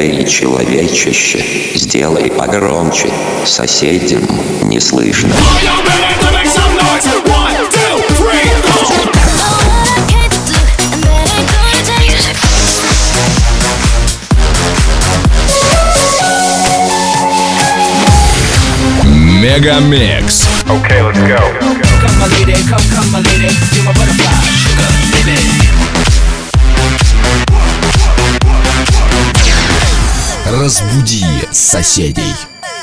Эй, человечище, сделай погромче, соседям не слышно. Мегамикс. Okay, let's go. Come my lady, come my lady, you're my butterfly, sugar, baby. Разбуди соседей.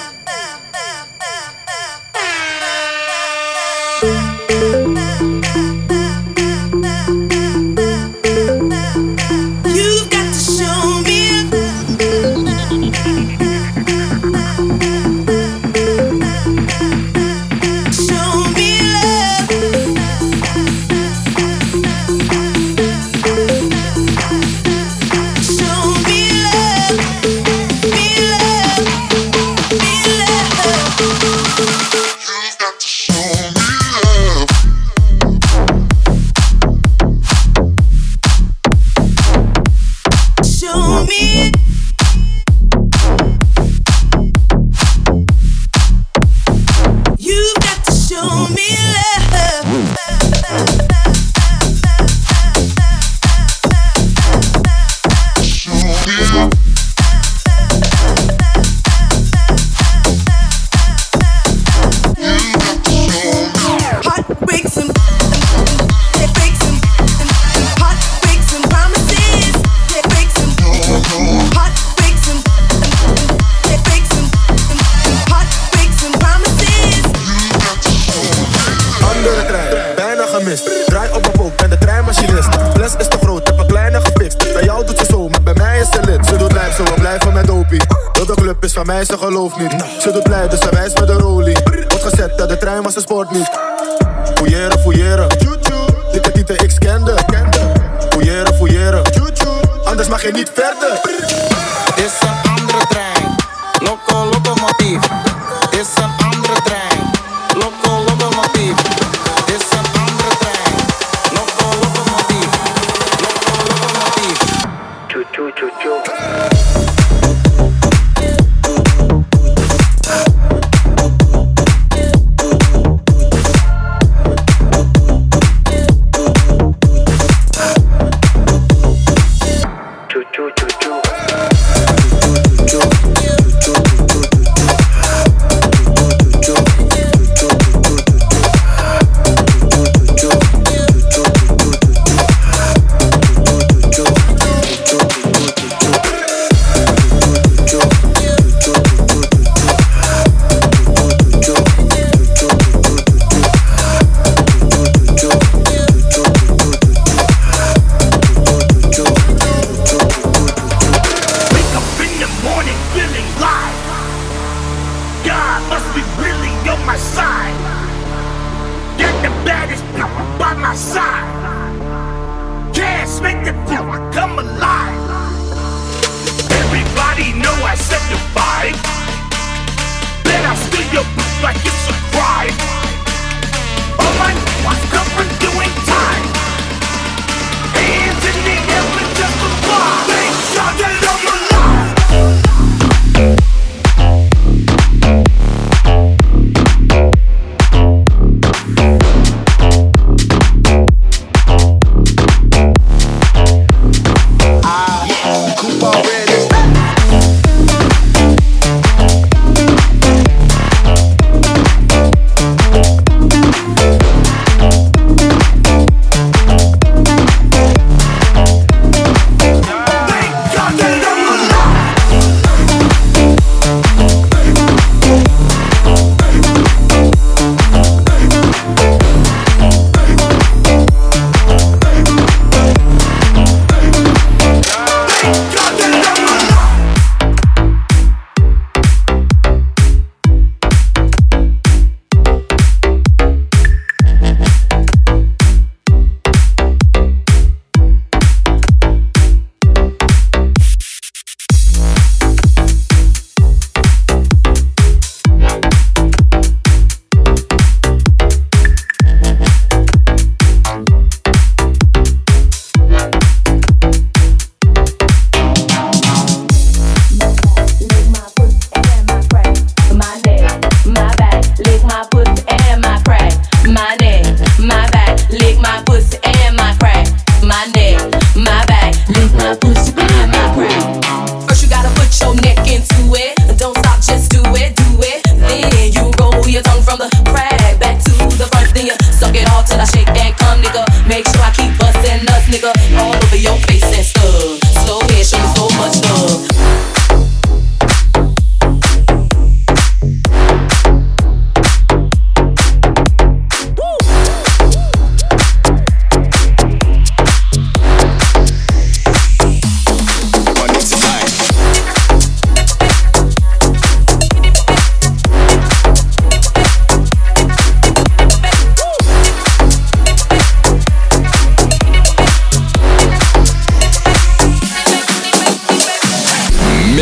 Draai op mijn pook, ben de treinmachinist. Fles is te groot, heb een kleine gefixt. Bij jou doet ze zo, maar bij mij is ze lid. Ze doet lijp, zo we blijven met dopie. Heel de club is van mij, ze gelooft niet. Ze doet blij, dus ze wijst met de rolie. Wordt gezet, dat de trein was een sport niet. Fouilleren, fouilleren. Dikke tieten, ik scande. Fouilleren, fouilleren. Anders mag je niet verder. Het is een andere trein. Loco, locomotief. Het is een andere trein. Loco, locomotief. Het is een andere trein. Loco, locomotief. Loco, locomotief. Choo choo choo choo.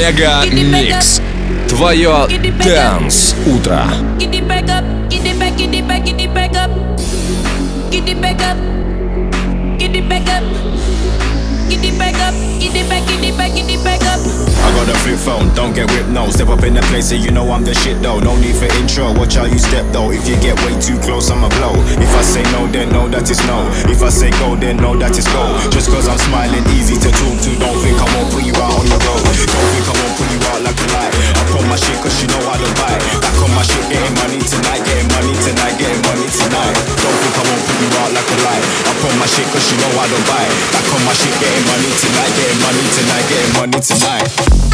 Мега Микс. Твое Dance утро. Get it back up, get it back, get it back, get it back up. Get it back up, get it back up. Get it back up, get it back, get it back, get it back up. I got a flip phone, don't get whipped, no. Step up in the place, so you know I'm the shit though. No need for intro, watch how you step though. If you get way too close, I'ma blow. If I say no, then know that it's no. If I say go, then know that it's go. Just cause I'm smiling, easy to talk to. Don't think I won't put you out on the road. Don't think I won't put you out like a lie. I put my shit cause you know I don't buy. Back on my shit, getting money tonight, getting money tonight, getting money tonight. Don't think I won't put you out like a lie. I put my shit cause you know I don't buy. Back on my shit, getting money tonight, getting money tonight, getting money tonight.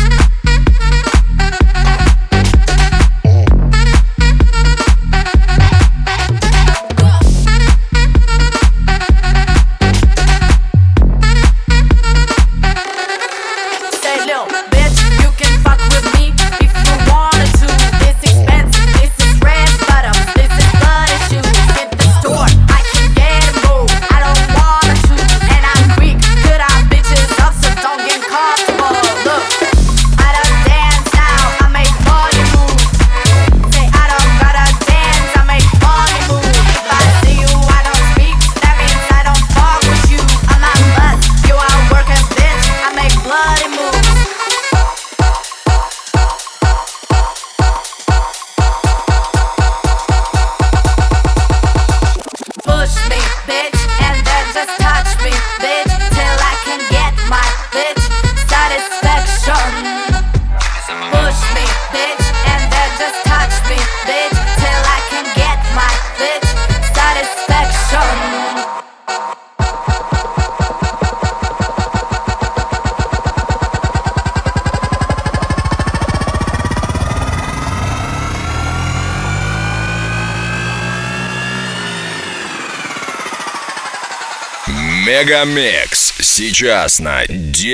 Мегамикс сейчас на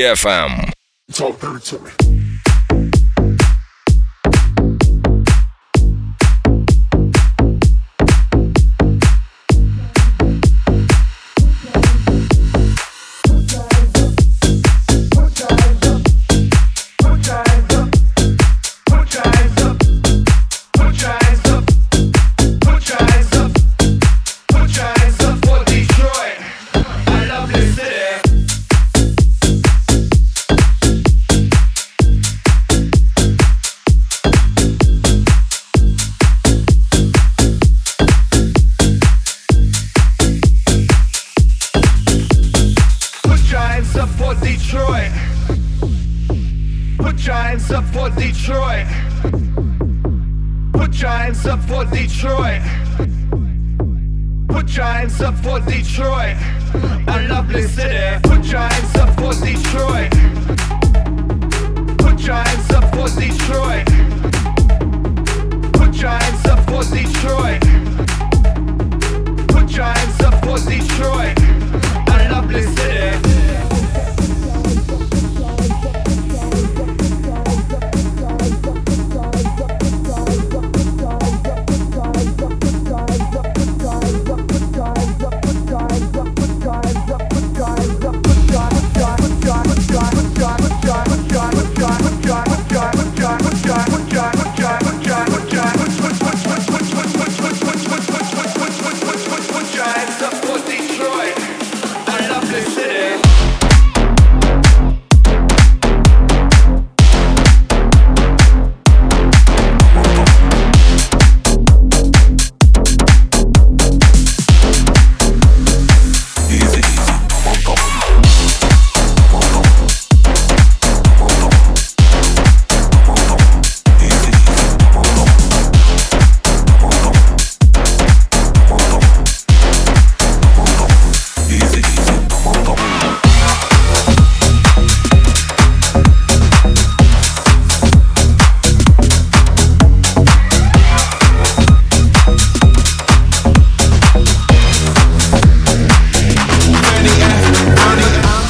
DFM. Talk dirty to me.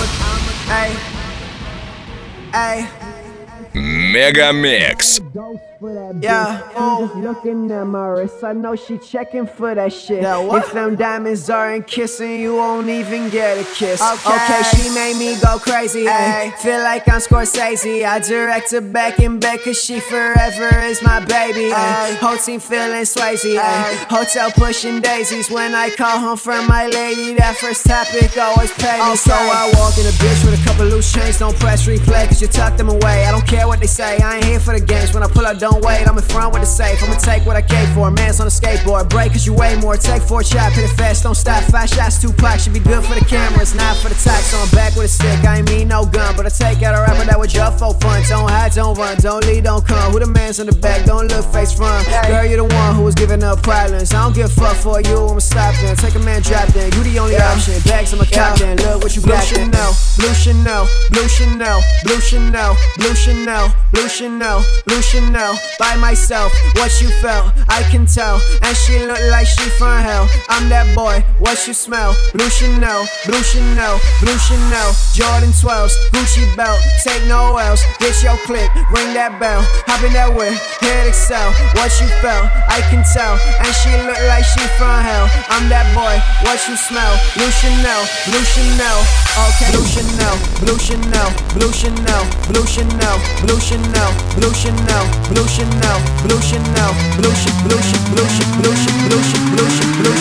Мегамикс. for that bitch. Yeah, just looking at my wrist, I know she checking for that shit. If them diamonds aren't kissing, you won't even get a kiss. Okay, she made me go crazy. Ay. Feel like I'm Scorsese. I direct her back in bed cause she forever is my baby. Ay. Whole team feeling Swayze. Ay. Hotel pushing daisies. When I call home from my lady, that first topic always pay me. So I walk in a bitch with a couple loose chains. Don't press replay cause you tuck them away. I don't care what they say, I ain't here for the games. When I pull up, don't wait, I'm in front with the safe. I'ma take what I came for, man's on a skateboard. Break cause you weigh more, take 4 shots, hit it fast, don't stop. 5 shots, 2 packs, should be good for the camera, it's not for the tax. So I'm back with a stick, I ain't mean no gun, but I take out a rapper that was just for fun. Don't hide, don't run, don't lead, don't come. Who the man's on the back, don't look face front. Girl, you the one who was giving up problems. I don't give a fuck for you, I'ma stop then. Take a man, drop then, you the only option. Bags, I'ma cop then, look what you got then. Blue Chanel, blue Chanel, blue Chanel, blue Chanel, blue Chanel, blue Chanel. By myself, what you felt, I can tell. And she look like she from hell. I'm that boy, what you smell? Blue Chanel, blue Chanel, blue Chanel. Jordan 12s, Gucci belt, take no else. Get your click, ring that bell. Hop in that whip, hit excel. What you felt, I can tell. And she look like she from hell. I'm that boy, what you smell? Blue Chanel, blue Chanel. Okay, blue Chanel, blue Chanel, blue Chanel, blue Chanel, blue Chanel, blue Chanel, blue Chanel, blue Chanel, blue Chanel, blue Chanel, blue Chanel, blue Chanel, blue Chanel, blue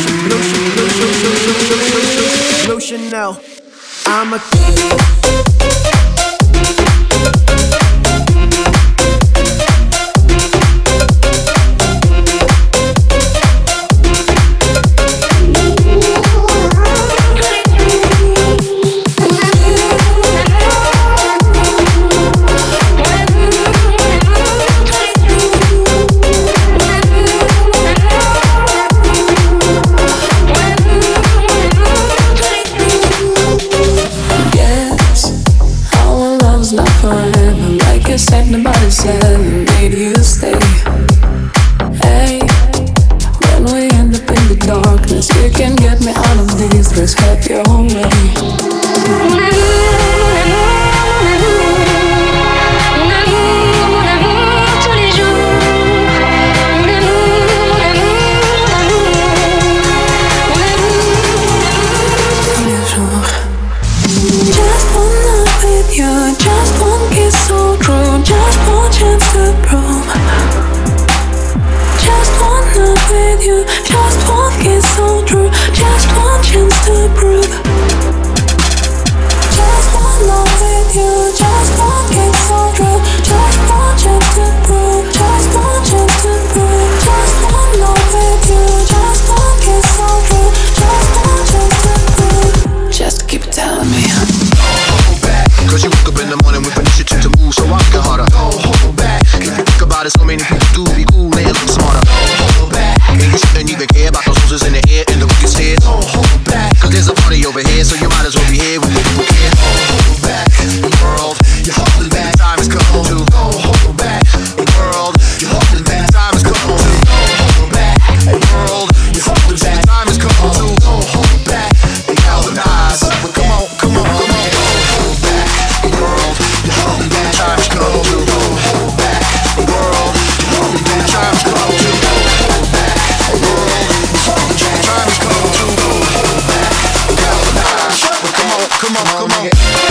Chanel, blue Chanel. I'm a said nobody said maybe you stay. Hey, when we end up in the darkness, you can get me out of these. Just have your own way. So many people do be cool and look smarter. Don't hold back. And you shouldn't even care about those roses in the air and the wicked stairs. Don't hold back. Cause there's a party over here, so you might as well be here with people who care. Don't hold back. The world, you're holding back. Time has come to. Don't hold back. The world, you're holding back. Time has come to. Don't hold back. The world, you're holding back. Time has come to. Don't hold back. The galvanize. But come on, come on, come on. Don't hold back. The world, you're holding back. Time has come to. Don't hold back. The world, you're holding back. Time has come to. Don't hold back. The world, you're holding back. Time has come to. Don't hold back. The galvanize. But come on, come on, come on.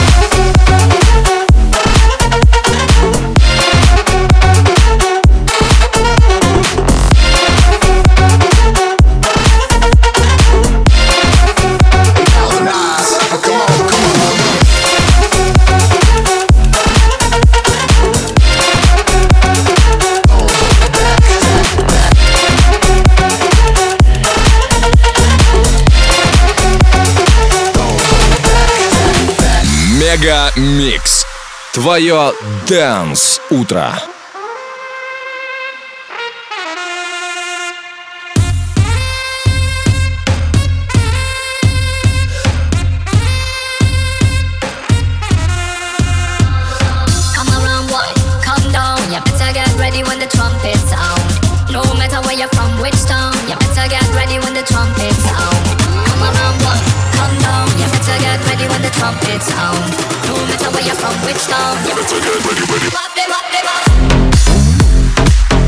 Мега Микс. Твое Dance утро. Come around, boy, come down. You better get ready when the trumpet sound. No matter where you're from, which town, you better get ready when the trumpet sound. Come around, boy, come down. You better get ready when the trumpet sound. No matter where you're from, which town, you better get ready. Wap them up, them up.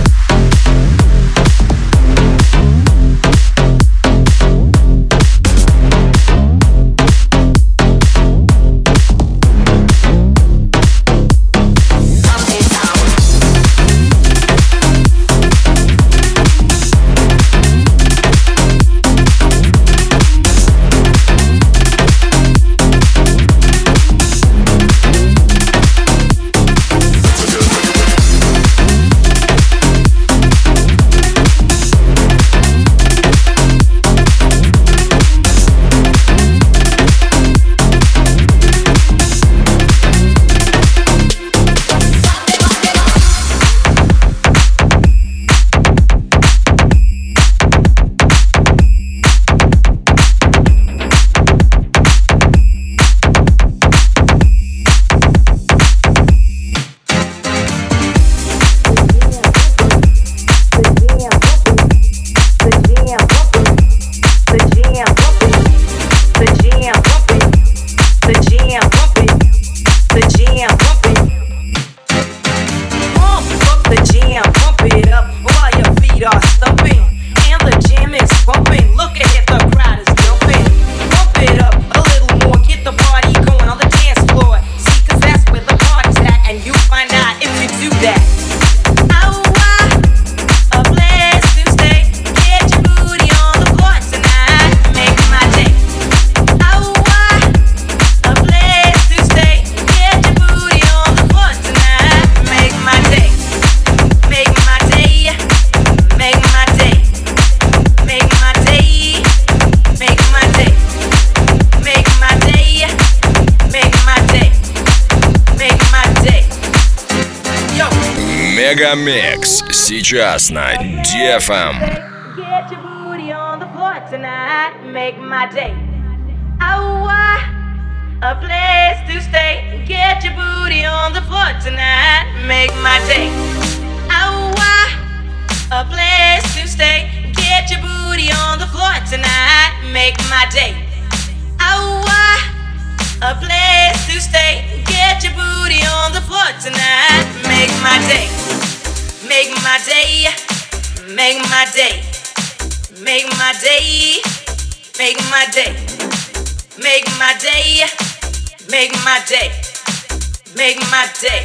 The jam, pump it up while your feet are stumping. And the jam is pumping. Look ahead, the crowd is jumping. Pump it up a little more, get the party going on the dance floor. See, 'cause that's where the party's at, and you find out if you do that. Oh, a place to stay. Get your booty on the floor tonight. Make my day. Oh, a place to stay. Get your booty on the floor tonight. Make my day. Make my day. Make my day. Make my day. Make my day. Make my day. Make my day. Make my day. Yo. Мегамикс сейчас на DFM. Get your booty on the floor tonight. Make my day. Oh, a place to stay. Get your booty on the floor tonight. Make my day. Oh, a place to stay. Get your booty on the floor tonight. Make my day. Oh, a place to stay. Get your booty on the floor tonight. Make my day. Make my day. Make my day. Make my day. Make my day. Make my day. Make my day. Make my day.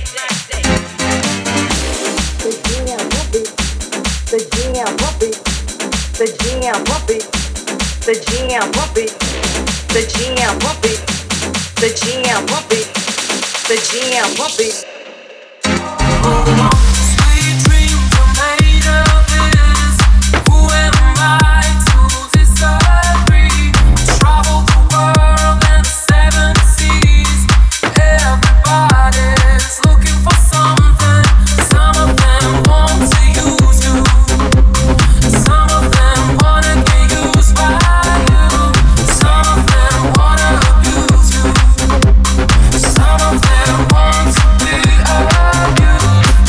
The jam pump it. The jam pump it. The jam pump it. The jam pump it. The jam pump it. The jam pump it. Sweet dreams are made of this. Who am I to disagree? Travel the world and 7 seas. Everybody's looking for something. Some of them want to use you. Some of them wanna get used by you. Some of them wanna abuse you. Some of them want to be abused.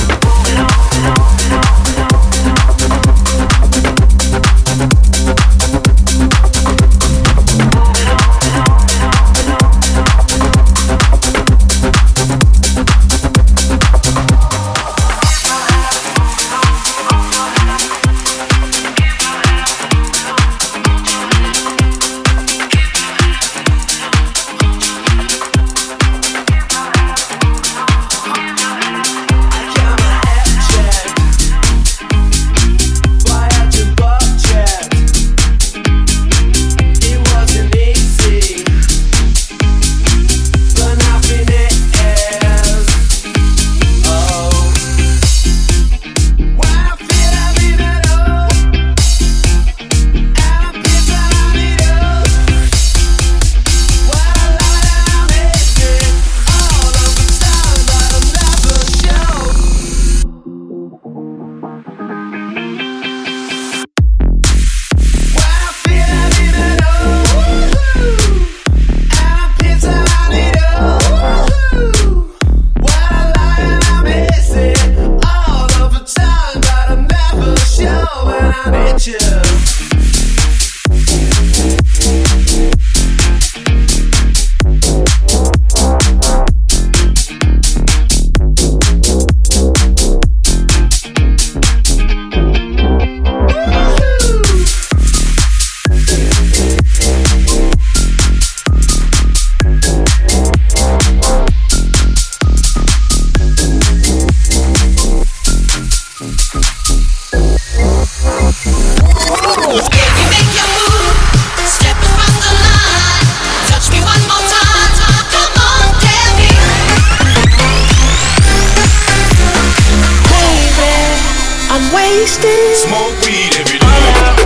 Smoke weed every day.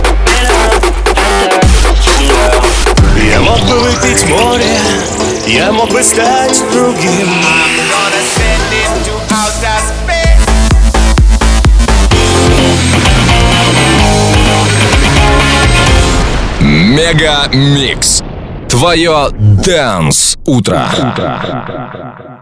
Я мог бы выпить море, я мог бы стать другим. Мегамикс. Твое Dance утро.